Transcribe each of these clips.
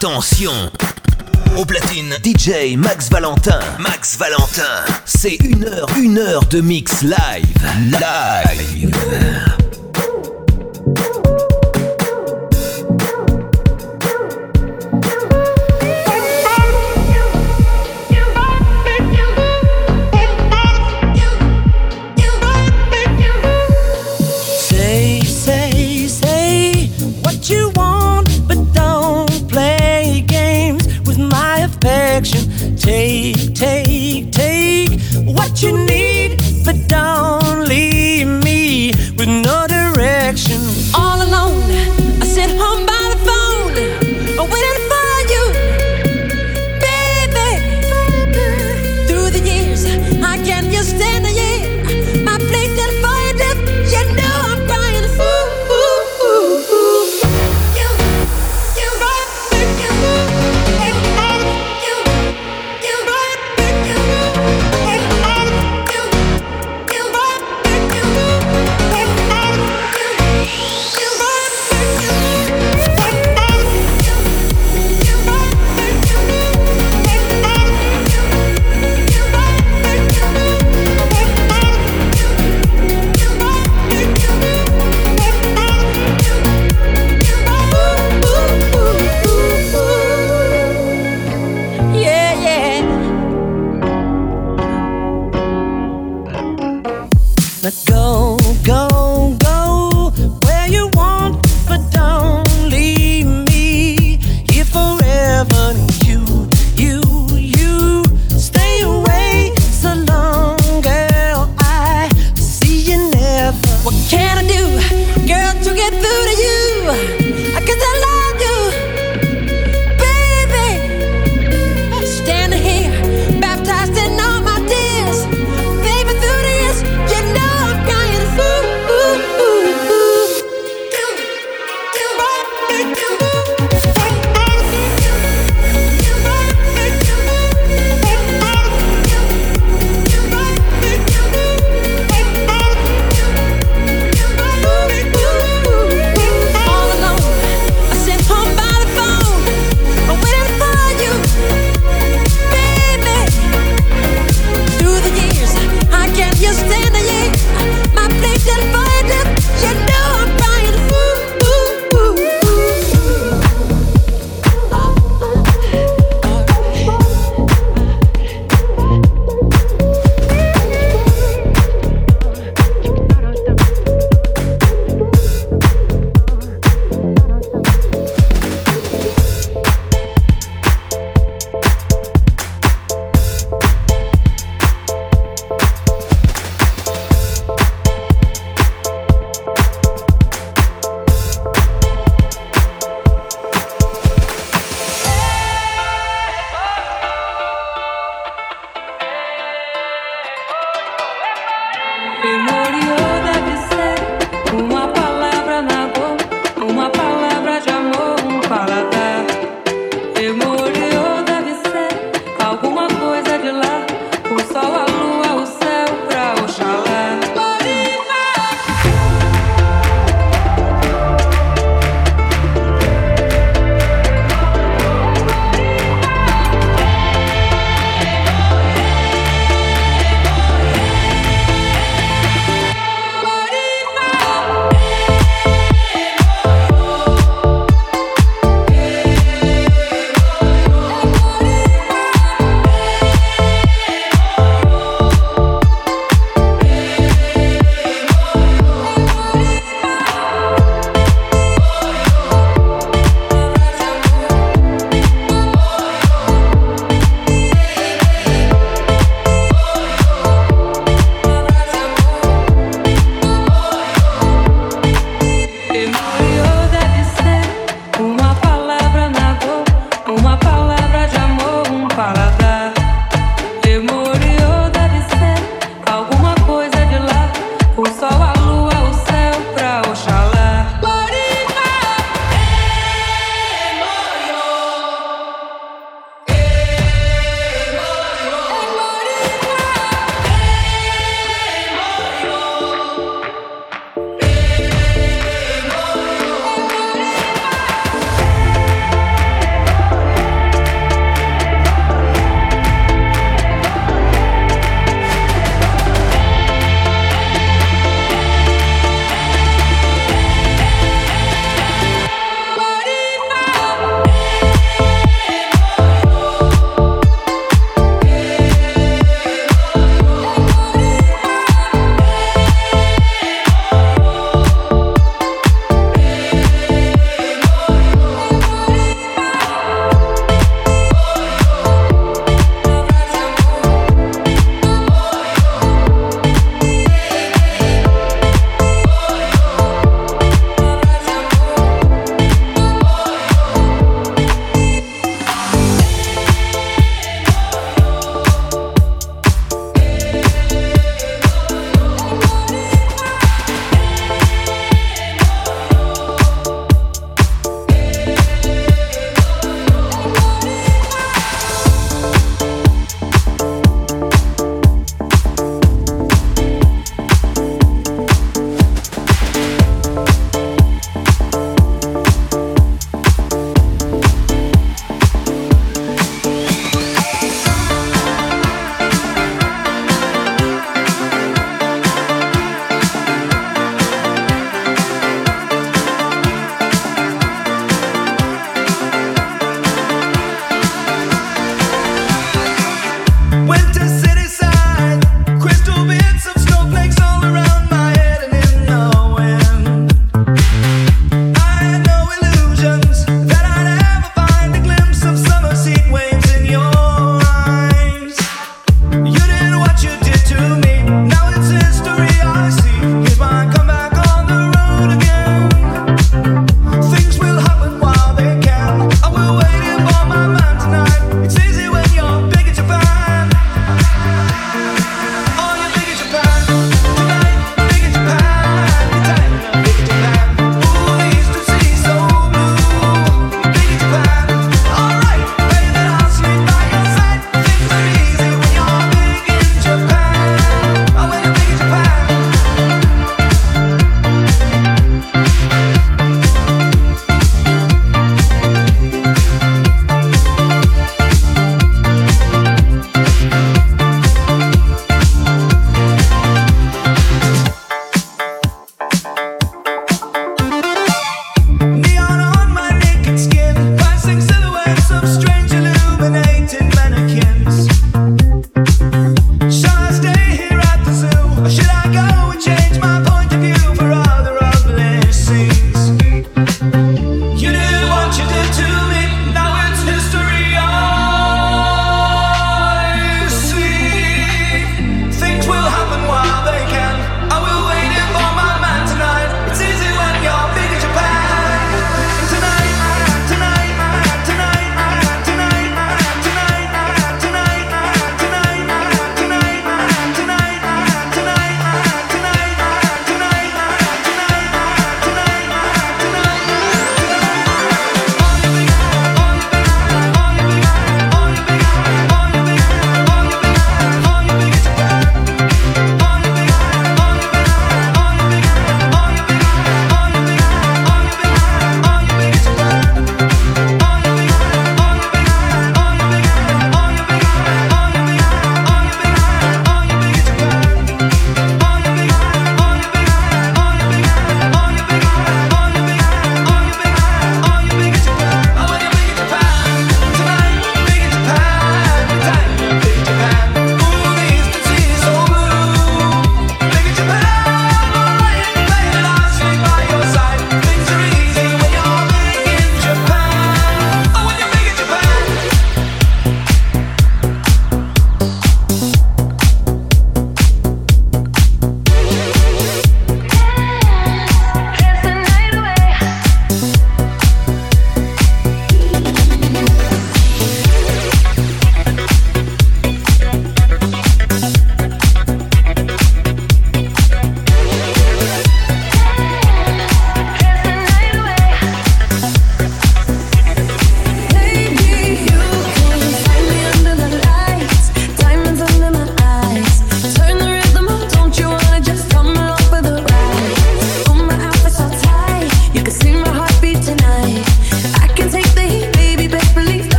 Attention! Au platine, DJ Max Valentin. Max Valentin. C'est une heure de mix live. Live. Say what you want, but don't play games with my affection. Take what you need, but don't leave me with no direction. All alone, I sit home by the phone, waiting for you, baby. Through the years, I can't just stand the year. My place is for you, you know I'm crying.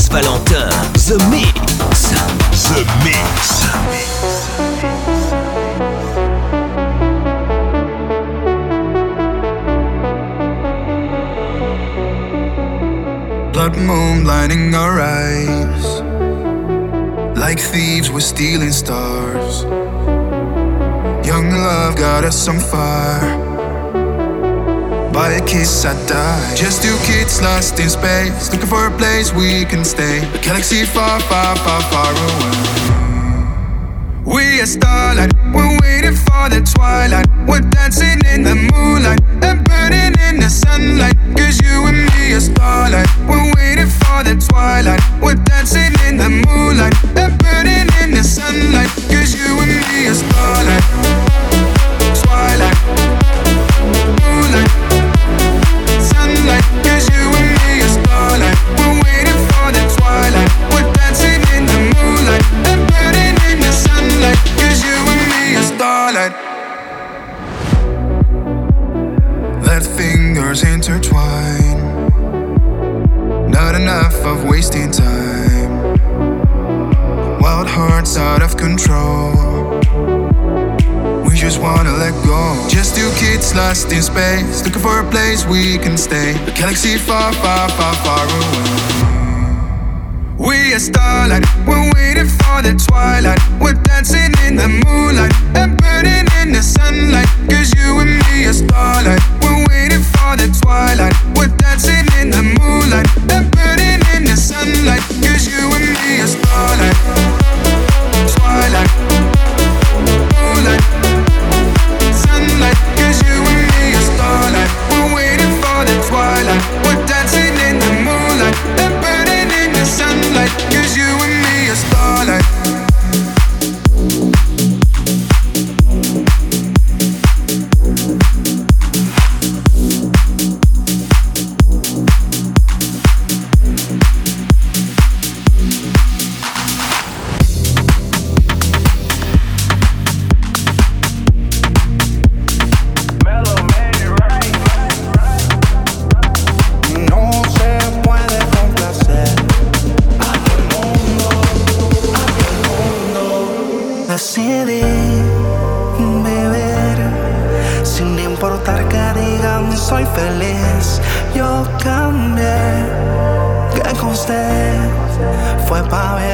Max Valentin, The Mix. The Mix. Blood moon blinding our eyes, like thieves we're stealing stars. Young love got us on fire. By a kiss I die. Just two kids lost in space, looking for a place we can stay. A galaxy far, far, far, far away. We are starlight, we're waiting for the twilight. We're dancing in the moonlight and burning in the sunlight. Cause you and me are starlight. We're waiting for the twilight. We're dancing in the moonlight and burning in the sunlight. Cause you and me are starlight. Twilight, moonlight, sunlight. Cause you and me are starlight. We're waiting for the twilight. We're dancing in the moonlight and burning in the sunlight. Cause you and me are starlight. Let fingers intertwine. Not enough of wasting time. Wild hearts out of control. We just wanna let go. Just two kids lost in space, looking for a place we can stay. A galaxy far, far, far, far away. We are starlight, we're waiting for the twilight. We're dancing in the moonlight and burning in the sunlight. Cause you and me are starlight. We're waiting for the twilight. We're dancing in the moonlight and burning in the sunlight. Cause you and me are starlight. Twilight, moonlight, sunlight. Cause you and me are starlight. We're waiting for the twilight. We're dancing in the moonlight and burning in the sunlight. Cause you and me are starlight. Decidí vivir sin importar que digan soy feliz. Yo cambié, que con usted fue pa' bien.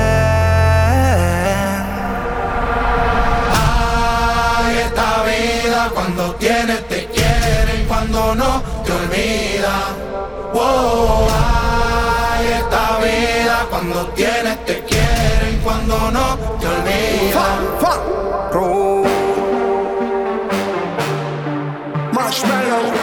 Ay, esta vida cuando tienes te quieren, cuando no te olvida. Wow, ay, esta vida cuando tienes te quieren, cuando no te olvida. Marshmallow.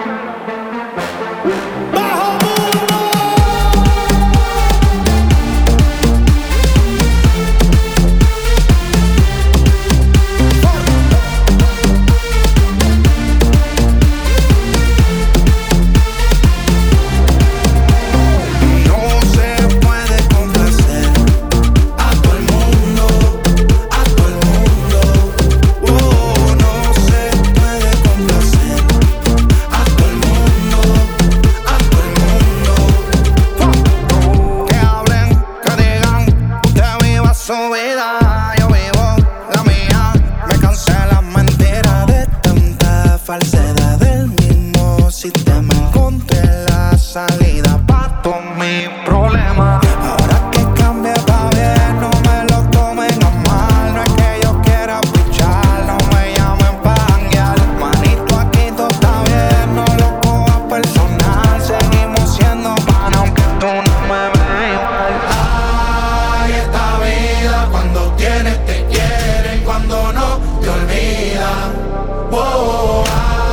Falsedad del mismo sistema. Encontré la salida pa' todos mis problemas. Ahora que cambie pa' bien, no me lo tomen a mal. No es que yo quiera pichar, no me llamen pa' janguear. Manito, aquí todo está bien, no lo cojas personal. Seguimos siendo pan aunque tú no me veas. Ay, esta vida cuando tienes te quieren, cuando no te olvidan. Wow.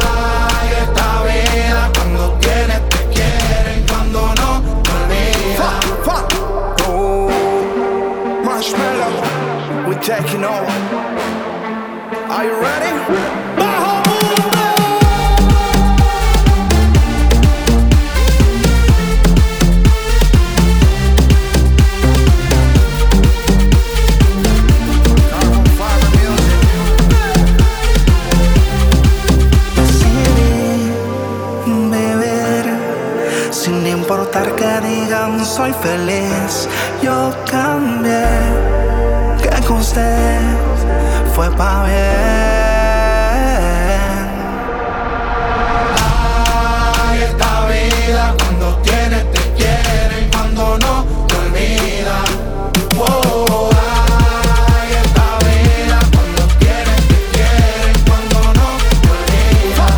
Taking over. Are you ready? Decidí vivir sin importar que digan soy feliz. usted fue pa' bien. Ay, esta vida cuando tienes te quieren, cuando no te olvidan. Wow, ay, esta vida cuando tienes te quieren, cuando no te olvidan.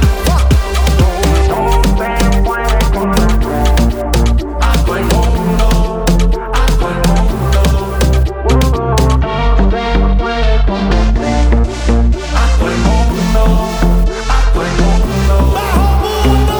A todo el mundo, a todo el mundo. A todo el mundo, a todo el mundo. ¡Bajo mundo!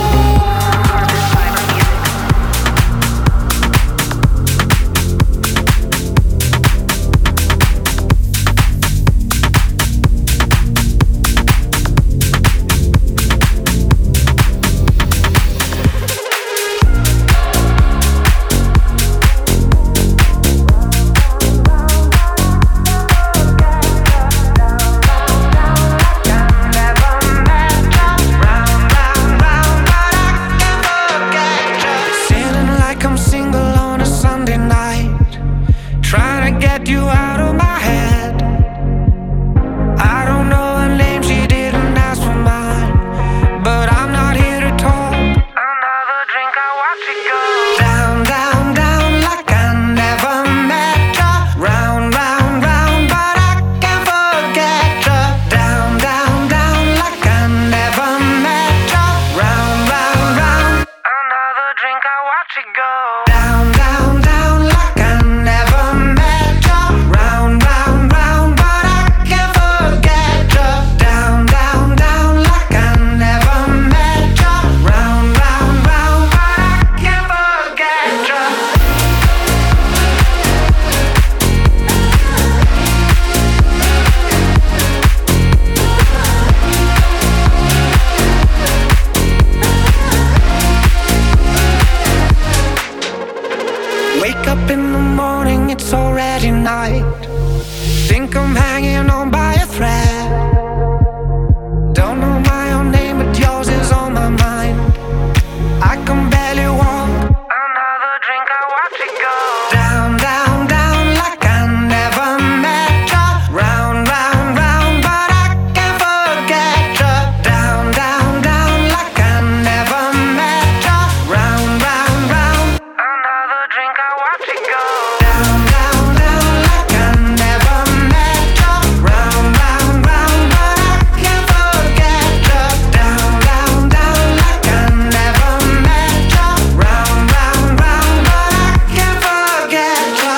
Feeling like I'm single on a Sunday night, trying to get you out of my head. I don't know her name, she didn't ask for mine, but I'm not here to talk. Another drink, I watch it go down, down, down, like I never met ya. Round, round, round, but I can't forget ya. Down, down, down, like I never met ya. Round, round, round. Another drink, I watch it go down, down, down, like I never met ya. Round, round, round, but I can't forget ya. Down, down, down, like I never met ya. Round, round, round, but I can't forget ya. Wake up in the morning, it's already night. Think I'm hanging on by a thread. Don't know my own name, but yours is on my mind. I can barely walk. Another drink, I watch it go down, down, down, like I never met ya. Round, round, round, but I can't forget ya. Down, down, down, like I never met ya. Round, round, round. Another drink, I watch it go down, down, down, like I never met ya. Round, round, round, but I can't forget ya. Down, down, down, like I never met ya. Round, round, round, but I can't forget ya.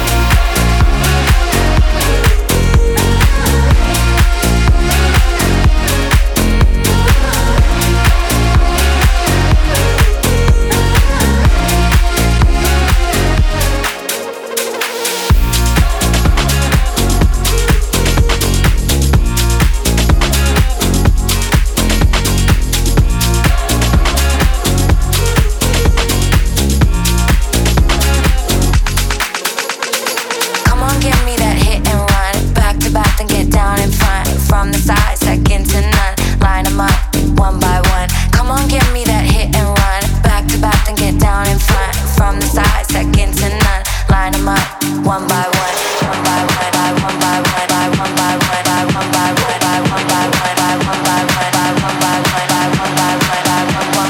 Come on, give me that hit and run. Back to back, then get down in front. From the side, second to none. Line them up, one by one. Come on, give me that hit and run. Back to back, then get down in front. From the side, second to none. Line them up, one by one. One by one, by one by one, by one by one, by one by one, by one by one, by one by one, by one by one, by one by one, by one,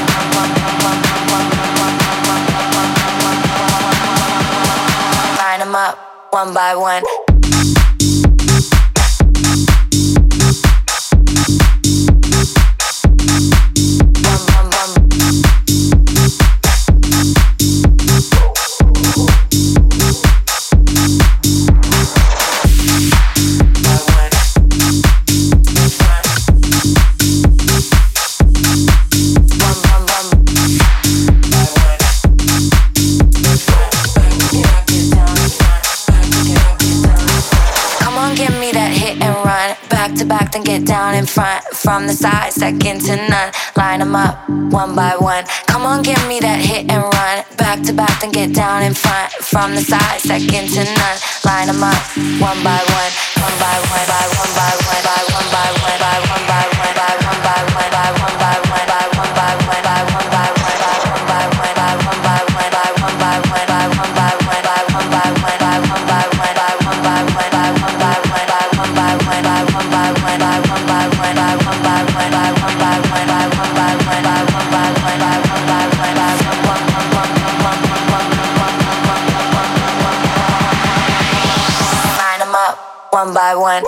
line them up, one by one. Back, then get down in front. From the side, second to none. Line them up, one by one. Come on, give me that hit and run. Back to back, then get down in front. From the side, second to none. Line them up, one by one. One by one, by one by one, by one by one, by one by one, by one by one, by one by one, by one by one, by one by one, by one by one, by one by one, by one by one, by one by one, by one by one, by one by one, by one by one, by one by one. one by one.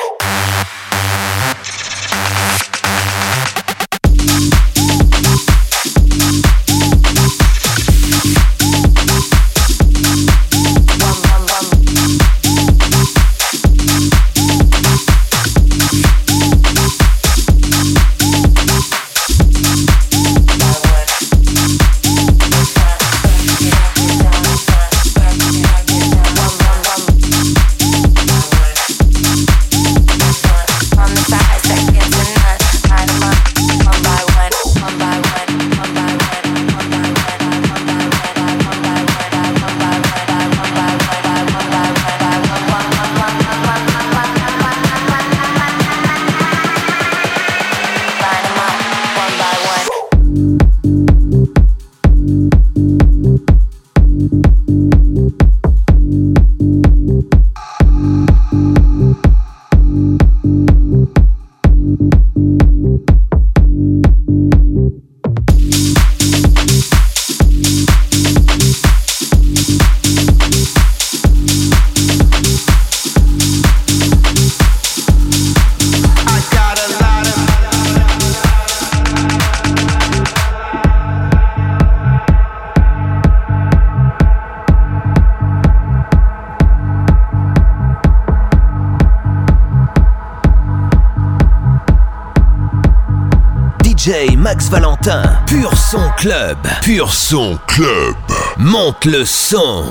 DJ Max Valentin, Pur Son Club. Pur Son Club. Monte le son.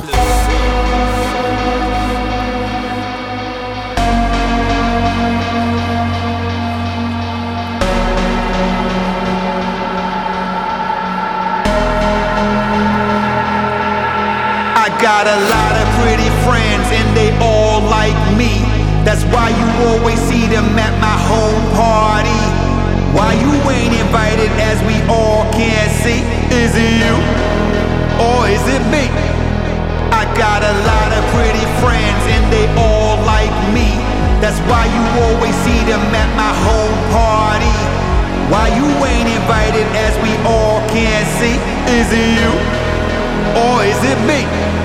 I got a lot of pretty friends and they all like me. That's why you always see them at my home party. Why you ain't invited as we all can see? Is it you or is it me? I got a lot of pretty friends and they all like me. That's why you always see them at my home party. Why you ain't invited as we all can see? Is it you or is it me?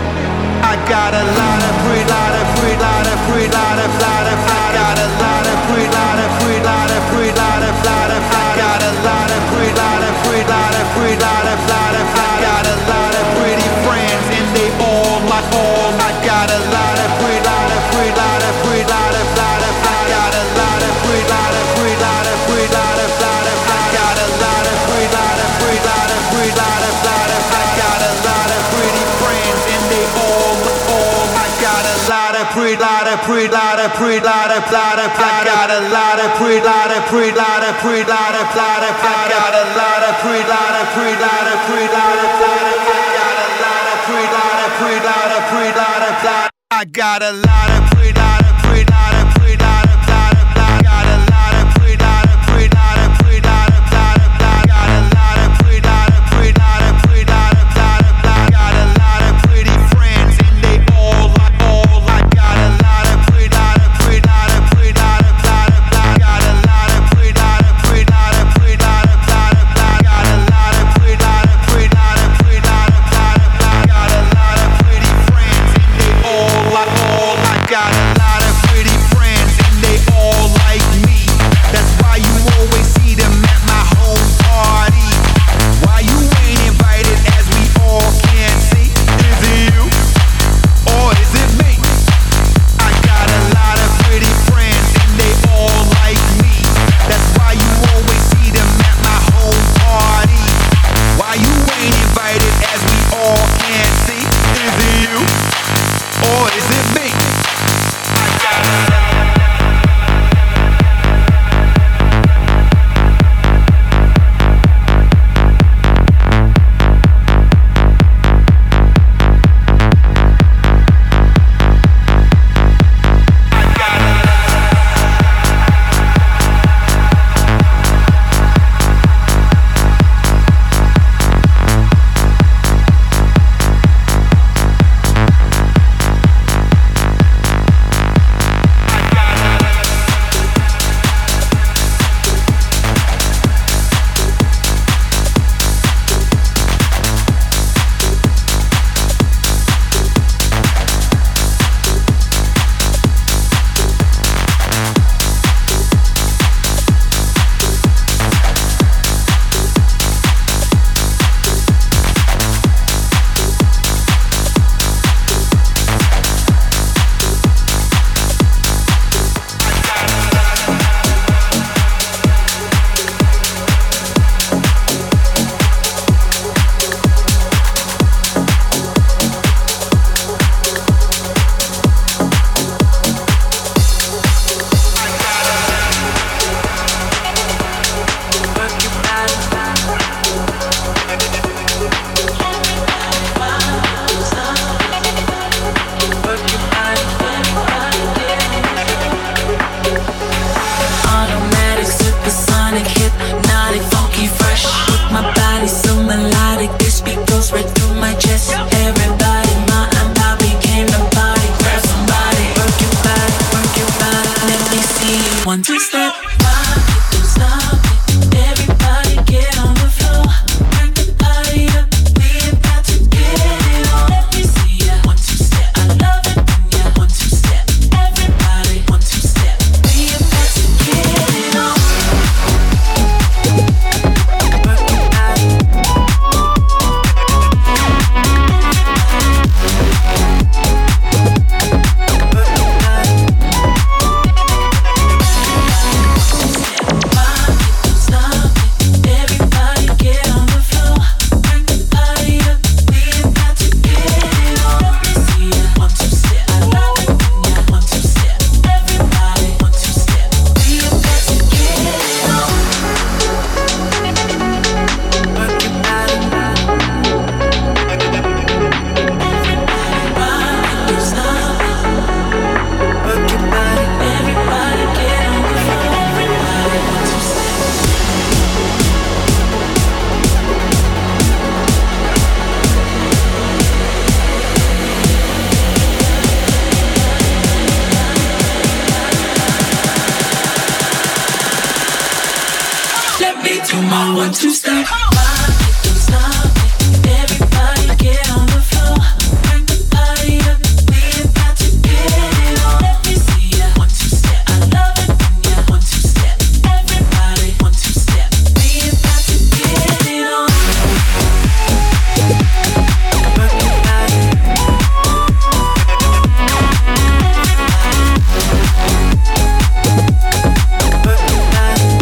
I got a lot of pretty, lot of pretty, lot of pretty, lot of, I got a lot of pretty, lot of pretty, lot of pretty, lot of, I got a lot of pretty, lot of pretty, lot of pretty, lot of, I got a lot of pretty friends and they all like all. I got a lot of pretty, lot of pretty, lot of pretty, lot of, I got a lot of pretty, lot of pretty, lot of pretty, lot of, I got a lot of pretty, lot of pretty, lot of pretty, lot of, I got a lot of pretty friends and they all. I got a lot of pretty, lot of pretty, lot of pretty, lot of, I got a lot of pretty, lot of pretty, lot of pretty, lot of, I got a lot of pretty, lot of pretty, lot of pretty, lot of, I got a lot of pretty, lot of pretty, lot of pretty, lot of, I got a lot of pretty, lot of pretty, lot of pretty, lot of, I got a lot of pretty, lot of pretty, lot of pretty, lot of, I got a lot of pretty, lot of pretty, lot of pretty, lot of, I got a lot of pretty friends and they all like all. I got a lot of pretty, lot of pretty, lot of pretty, lot of, I got a lot of pretty, lot of pretty, lot of pretty, lot of, I got a lot of pretty, lot of pretty, lot of pretty, lot of, I got a lot of pretty friends and they all like all. I got a lot of pretty One, two, step. Rock it, don't stop it. Everybody get on the floor. Bring the party up. We about to get it on. Let me see ya. One, two, step. I love it when ya. One, two, step. Everybody, one, two, step. We about to get it on. Work your body. One, two, step. Rock it, don't stop it. Everybody get on the floor. Bring the party up. We about to get it on. Let me see ya. One, two, step. I love it when ya. One, two, step. Everybody, one, two, step. We about to get it on. Work your body. Work your body.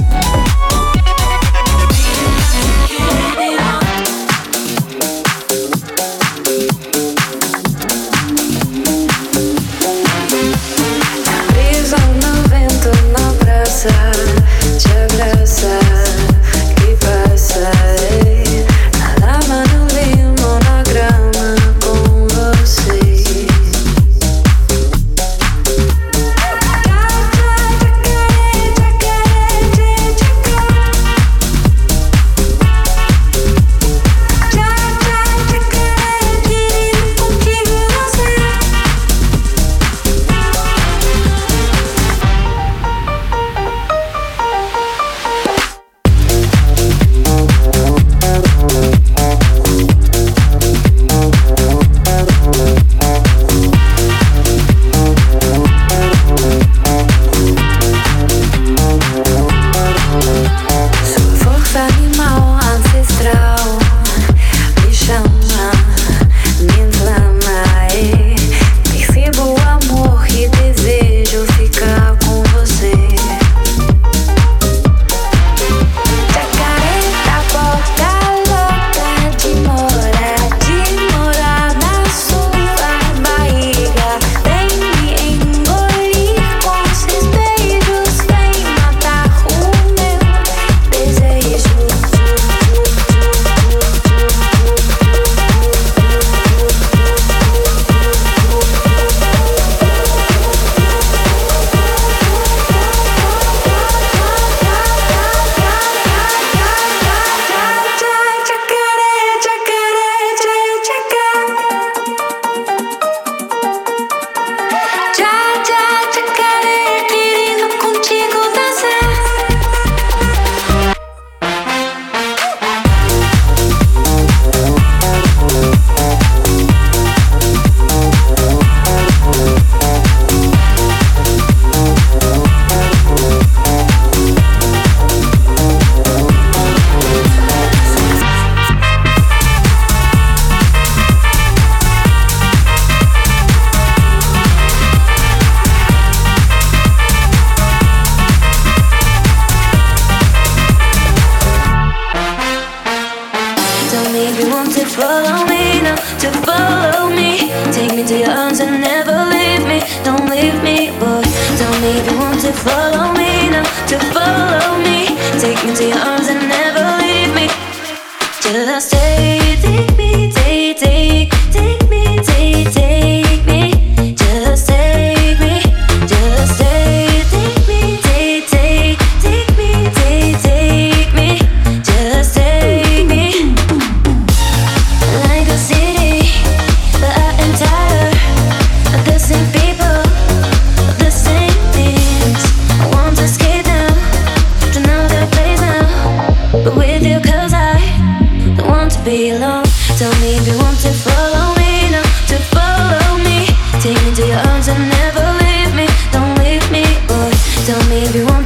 People, the same things. I want to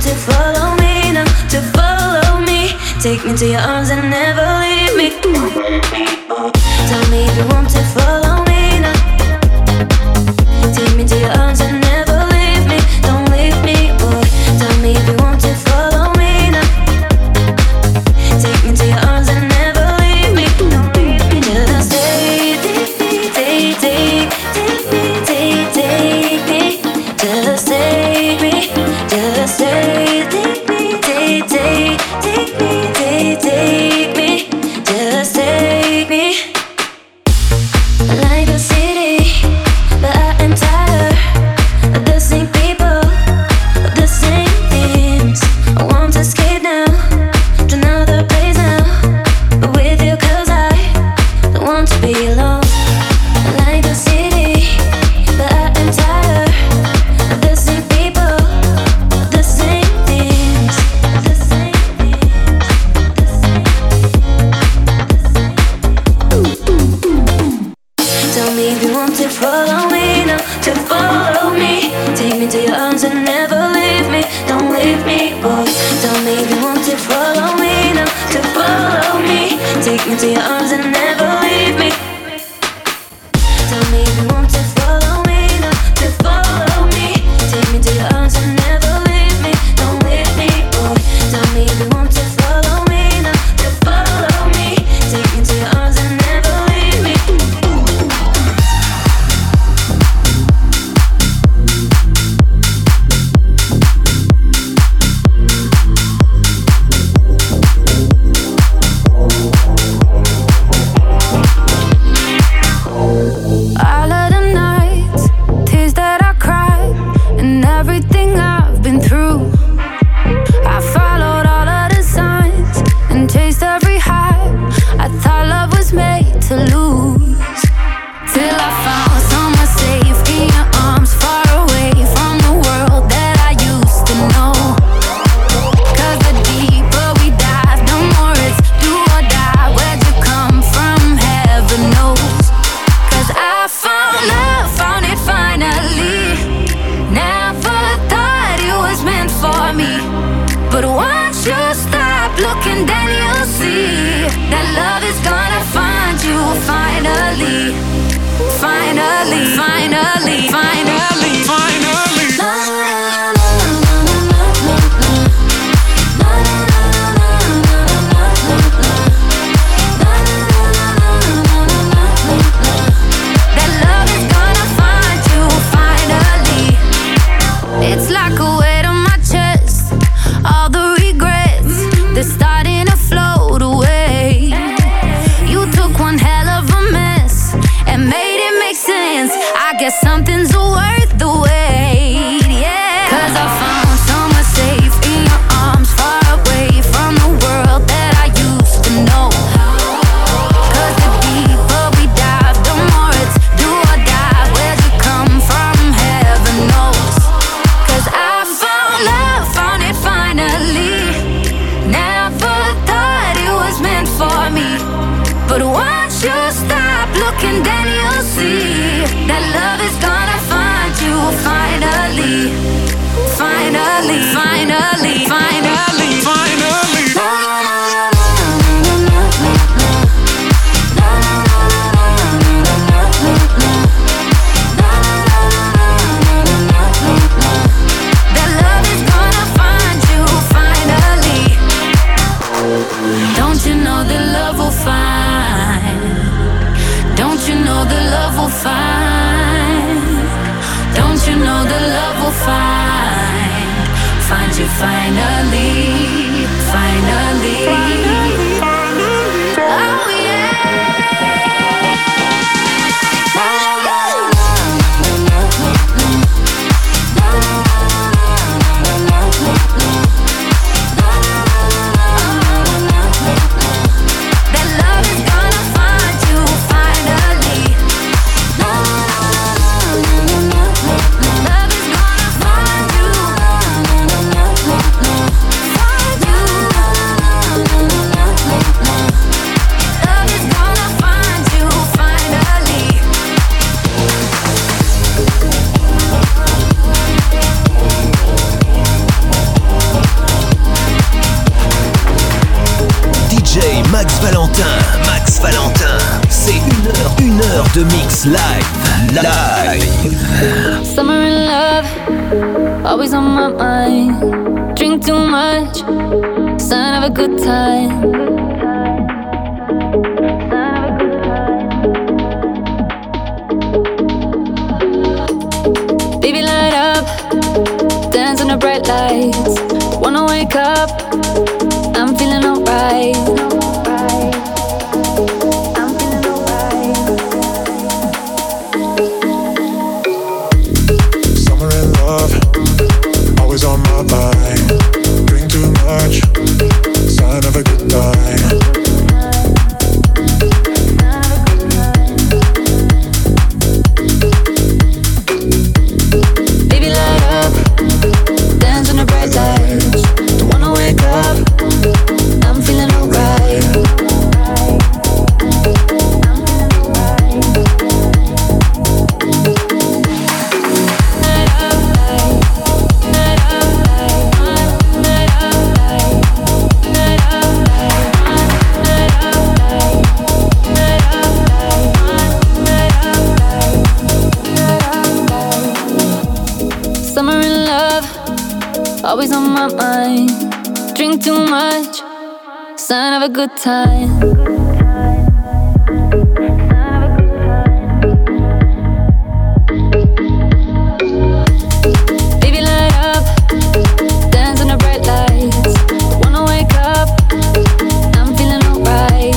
to follow me now, to follow me. Take me to your arms and never leave me. Tell me if you want to follow me now. Take me to your arms and never leave me. Don't leave me, boy. Tell me if you want to follow me now. Take me to your arms and never leave me. Don't leave me. Just take me, take me. Just take me, just take me, take me, just take me. Like a city, but I am tired of the same people, of the same things. I want to escape now, to another place now, but with you 'cause I don't want to be alone. Like a city, but I am tired of the same people, of the same things, the same things, the same things. Tell me if you want to follow me now, to follow me. Take me to your arms and never leave me. Don't leave me, boy. Tell me if you want to follow me now, to follow me. Take me to your arms and never leave me. Tell me if you want to follow me now, to follow me. Take me to your arms and never leave me. Don't leave me, boy. Tell me if you want to follow me now, to follow me. Take me to your arms and never leave me. All of the nights, tears that I cried, and everything I've been through. I followed all of the signs and chased every high. I thought love was made to lose, till I found somewhere safe in your arms, far away from the world that I used to know. 'Cause the deeper we dive, the more it's do or die. Where'd you come from? Heaven knows. 'Cause I found love, found it finally. Never thought it was meant for me, but once you stop looking, then you'll see that love is gonna find you finally. Finally, finally, finally, finally. That love is gonna find you finally. It's like a weight on my chest, all the regrets, they're starting to float away. You took one hell of a mess and made it make sense. I guess something's worth the wait, yeah. 'Cause I found somewhere safe in your arms, far away from the world that I used to know. 'Cause the deeper we dive, the more it's do or die. Where'd you come from? Heaven knows. 'Cause I found love, found it finally. Never thought it was meant for me, but once you stop looking, then you'll see that love is gonna find you finally. Finally, finally, finally, finally. That love is gonna find you finally. Don't you know that love will find? Don't you know that love will find? Don't you know that love will find? Find you finally. Valentin, Max Valentin, c'est une heure de mix live. Summer in love, always on my mind. Drink too much, sign of a good time. Baby, light up, dance on the bright lights. Wanna wake up, I'm feeling alright. Summer in love, always on my mind. Drink too much, sign of a good time. Baby, light up, dance on the bright lights. Don't wanna wake up, I'm feeling alright. Summer in love, always on my mind. Drink too much, sign of a good time. Baby, light up, dance on the bright lights. Wanna wake up, I'm feeling alright.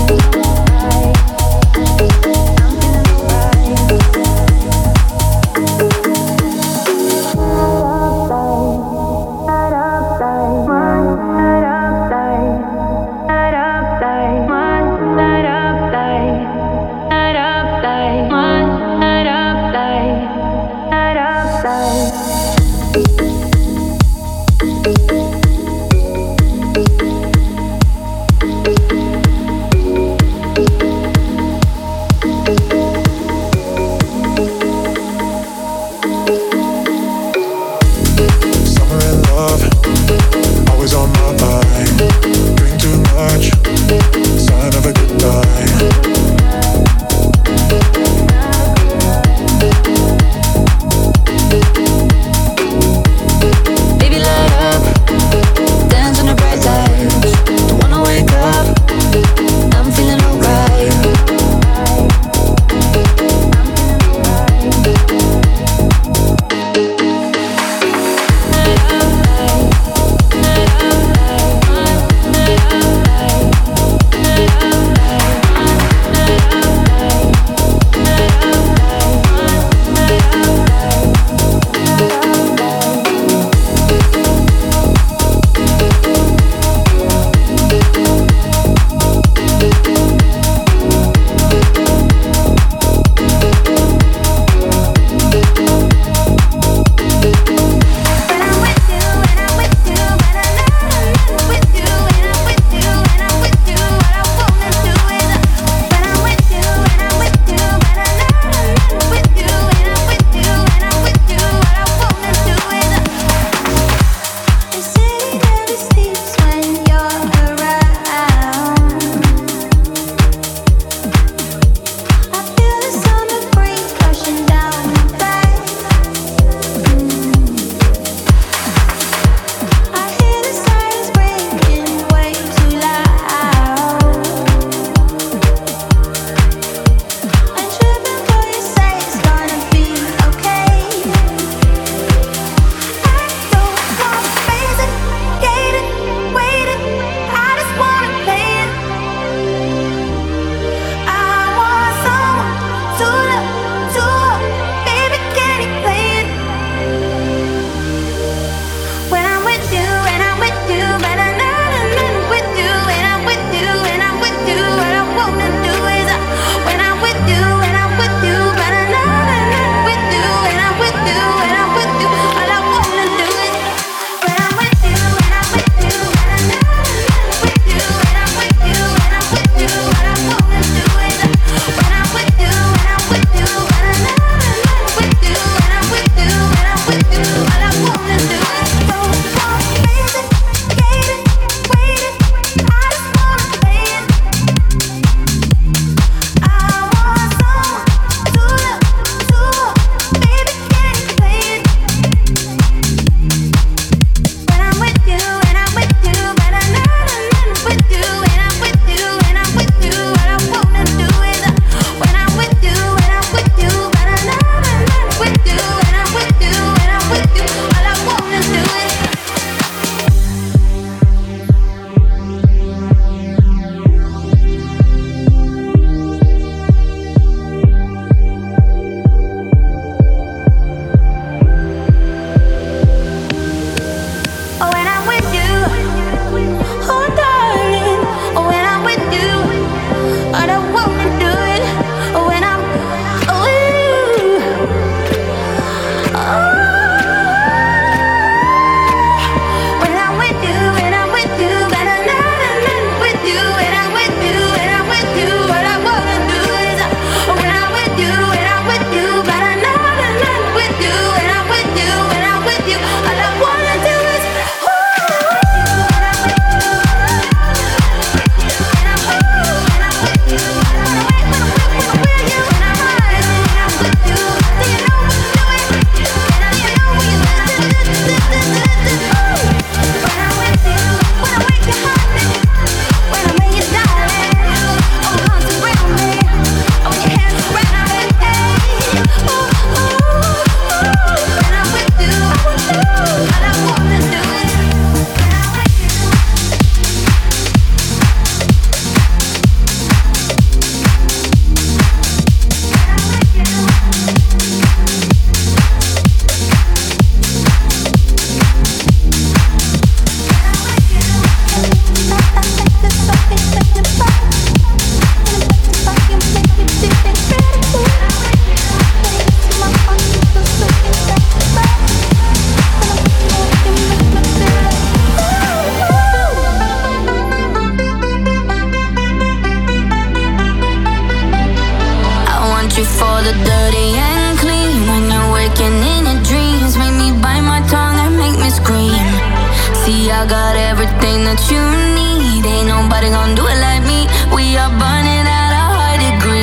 I got everything that you need. Ain't nobody gonna do it like me. We are burning at a high degree.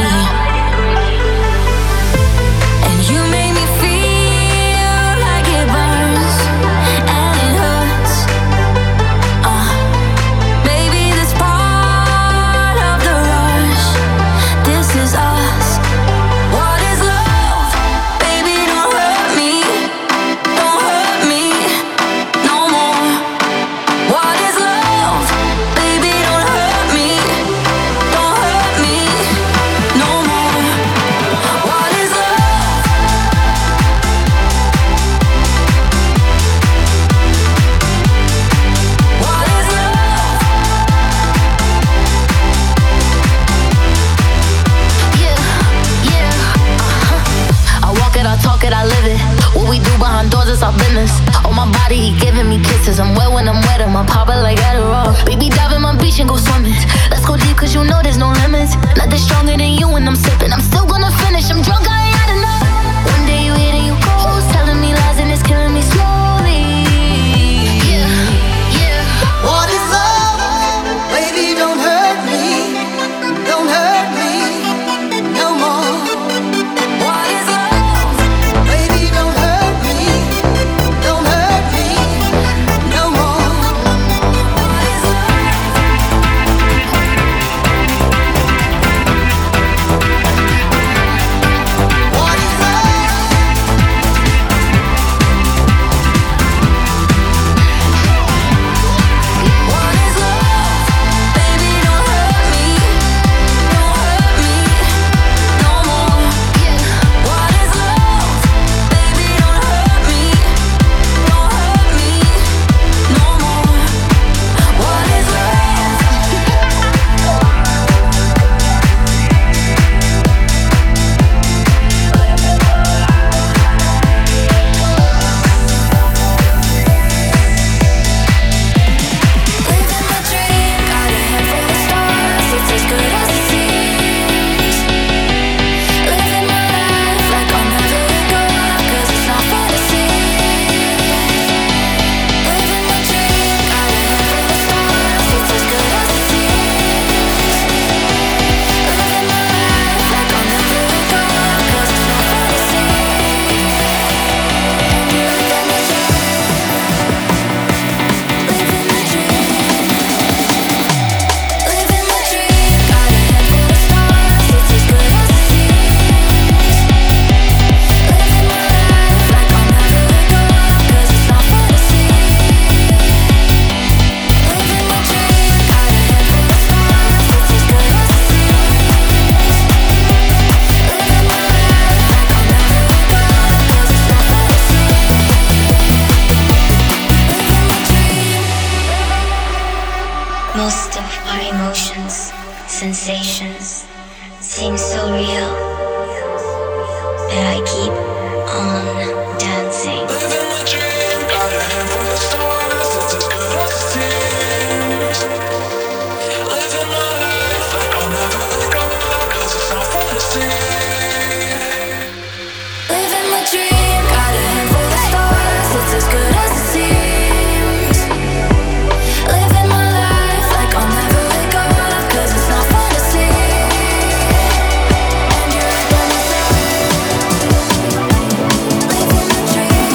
And you make me feel like it burns and it hurts. Baby, this part of the rush. This is us. What is love? Baby, don't hurt me. Don't hurt me no more. What is love? Baby, don't hurt me. Don't hurt me no more. What is love? What is love? Yeah, I walk it, I talk it, I live it. What we do behind doors is our business. On my body, he giving me kisses. I'm wet when I'm wet, I'm pop it like Adderall. Baby, dive in my beach and go swimming. Let's go deep, cause you know there's no limits. Nothing stronger than you when I'm sipping. I'm still gonna finish, I'm drunk, I ain't had enough. One day you hit and you go, telling me lies and it's killing me slowly. Yeah. What is love? Baby, don't hurt me. Don't hurt me no more. What is love? Baby, don't hurt me. Don't hurt me no more. What is love? What is What is love? Baby, don't hurt me. Don't hurt me no more. What is love? Baby, don't hurt me. Don't hurt me no more. What is love? Living my dream, got a handful of stars, it's as good as it seems. Living my life like I'll never let go, 'cause it's not fantasy. Living my dream, got a handful of stars, it's as good as it seems. Living my life like I'll never let go, 'cause it's not fantasy. And you look at me so living my dream. Living my dream, got a handful of stars, it's as good as it seems. Living my life like I'll never let go, 'cause it's not fantasy. Living my dream, got a handful of stars, it's as good as it seems. Living my life like I'll never let go, 'cause it's not fantasy. Living my dream. Most of our emotions, sensations seem so real that I keep on dancing. Living my dream, got a handful of stars, it's as good as it seems. Living my life like I'll never let go, 'cause it's not fantasy. Living my dream, got a handful of stars, it's as good as it seems. Living my life like I'll never let go, 'cause it's not fantasy. And you're right by my side. Living my dream.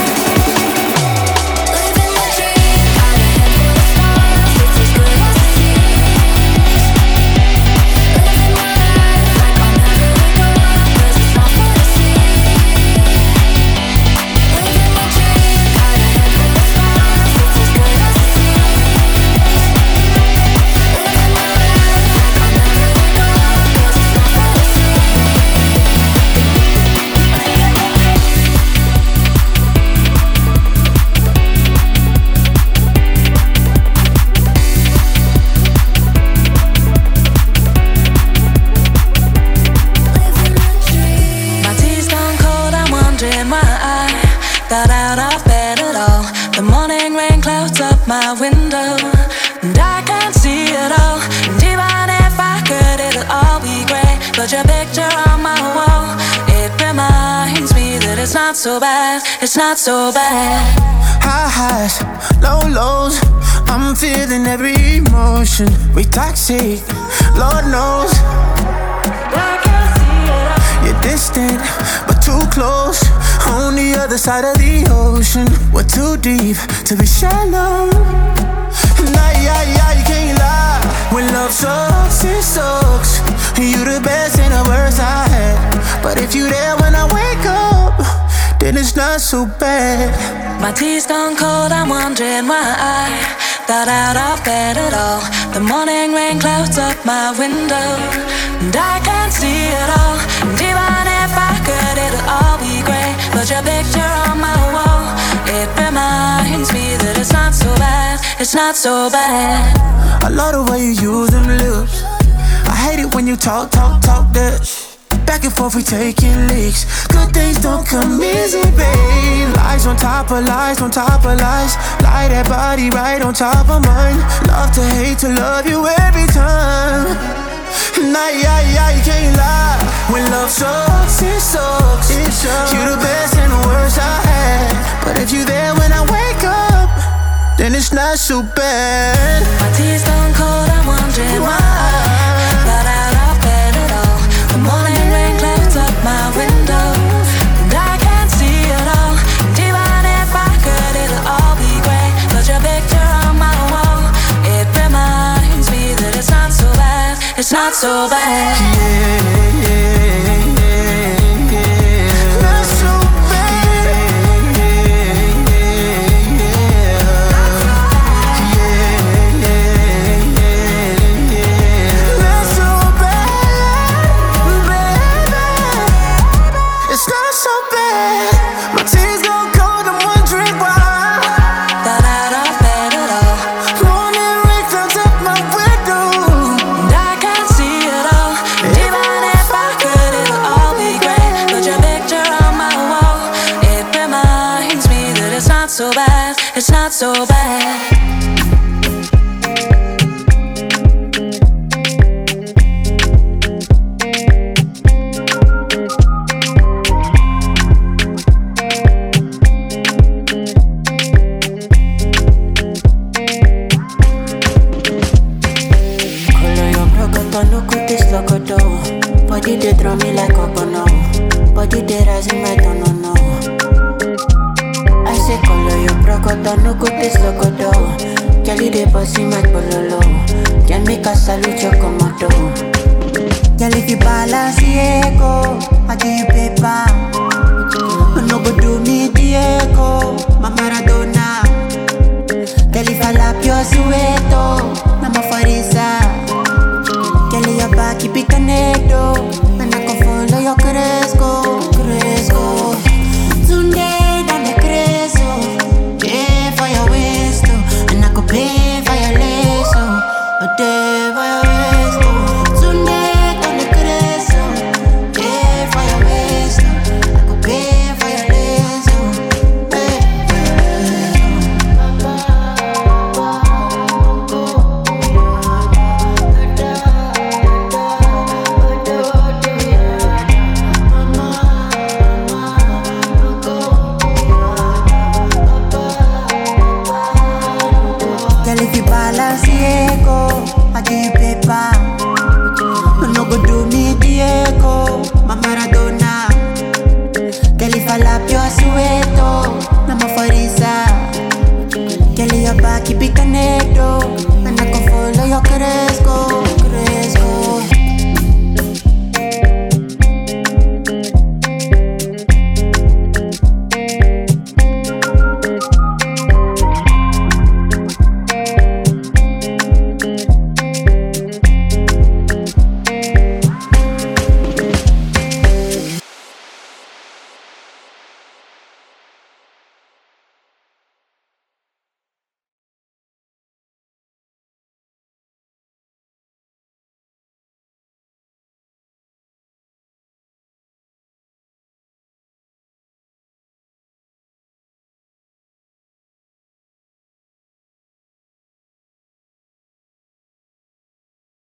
Living my dream, got a handful of stars, it's as good as it seems. Living my life like I'll never let go, 'cause it's not fantasy. Living my dream, got a handful of stars, it's as good as it seems. Living my life like I'll never let go, 'cause it's not fantasy. My tea's gone cold, I'm wondering why I got out of bed at all. The morning rain clouds up my window, and I can't see it all. And even if I could, it'll all be grey. But your picture on my wall, it reminds me that it's not so bad, it's not so bad. High highs, low lows, I'm feeling every emotion. We toxic, Lord knows. You're distant, but too close. On the other side of the ocean. We're too deep to be shallow. Nah, yeah, you can't lie. When love sucks, it sucks. You the best and the worst I had. But if you there when I wake up, then it's not so bad. My tea's gone cold, I'm wondering why I got out of bed at all. The morning rain clouds up my window, and I can't see it all. And even if I could, it'll all be grey. But your picture on my wall, it reminds me that it's not so bad, it's not so bad. I love the way you use them lips. I hate it when you talk that. Back and forth we taking leaks. Good things don't come easy, babe. Lies on top of lies, on top of lies. Lie that body right on top of mine. Love to hate to love you every time. Nah, yeah, you can't lie. When love sucks, it sucks. You the best and the worst I had. But if you there when I wake up, then it's not so bad. My tea's gone cold, I'm wondering why I got out of bed at all. The morning rain clouds up my window, and I can't see it all. And even if I could, it'll all be grey. But your picture on my wall, it reminds me that it's not so bad, it's not so bad. Not so it's not so bad. Color your broken, no good this locoto. Body they draw me like cocono. Body they rising right on no. I say color your brocodo, no good this locodo. Jelly de bossy my pololo. Can make a salute your comodo. Girl if you balance Diego, I give you paper. No go do me Diego, my Maradona. Girl if I lap your sueto, I'm a farisa. Girl your back keep it connected, and I can follow your cresco. Tunde dan de creso, pay for your waist, and I could pay for your lace, pay for your waist. Tunde dan de creso, pay for your waist, I could pay for your lace, if you balance Diego, I give you paper. No go do me Diego, my Maradona. Girl if I lap your sueto, I'm a farisa. Girl your back keep it connected, and I can follow your cresco.